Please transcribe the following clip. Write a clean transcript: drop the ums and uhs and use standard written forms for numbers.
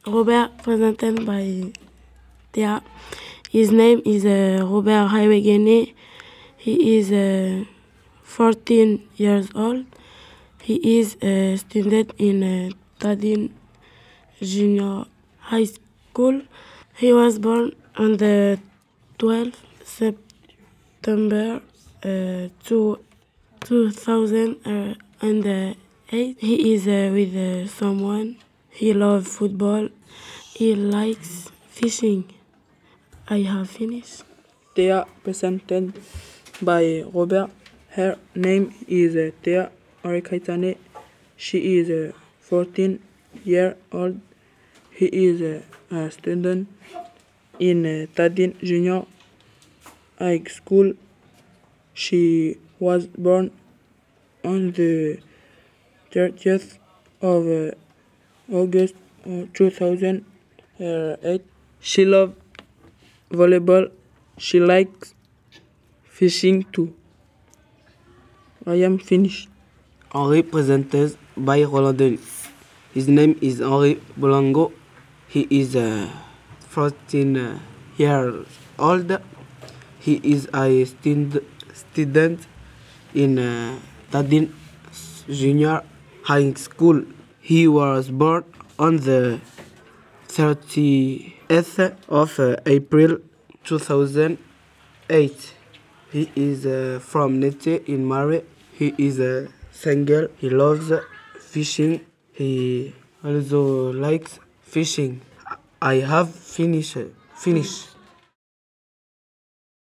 Robert, presented by Thea. His name is Robert Haiwegene. He is 14 years old. He is a student in Tadin Junior High School. He was born on the 12th September 2008. He is with someone. He loves football. He likes fishing. I have finished. Thea, presented by Robert. Her name is Thea Arikaitane. She is 14 years old. He is a student in Tadin Junior High School. She was born on the 30th of August 2008. She loves volleyball. She likes fishing too. I am finished. Henri, presented by Roland Denis. His name is Henri Bolango. He is 14 years old. He is a student in Tadin Junior High School. He was born on the 30th of April 2008. He is from Nete in Mare. He is single. He loves fishing. He also likes fishing. I have finished.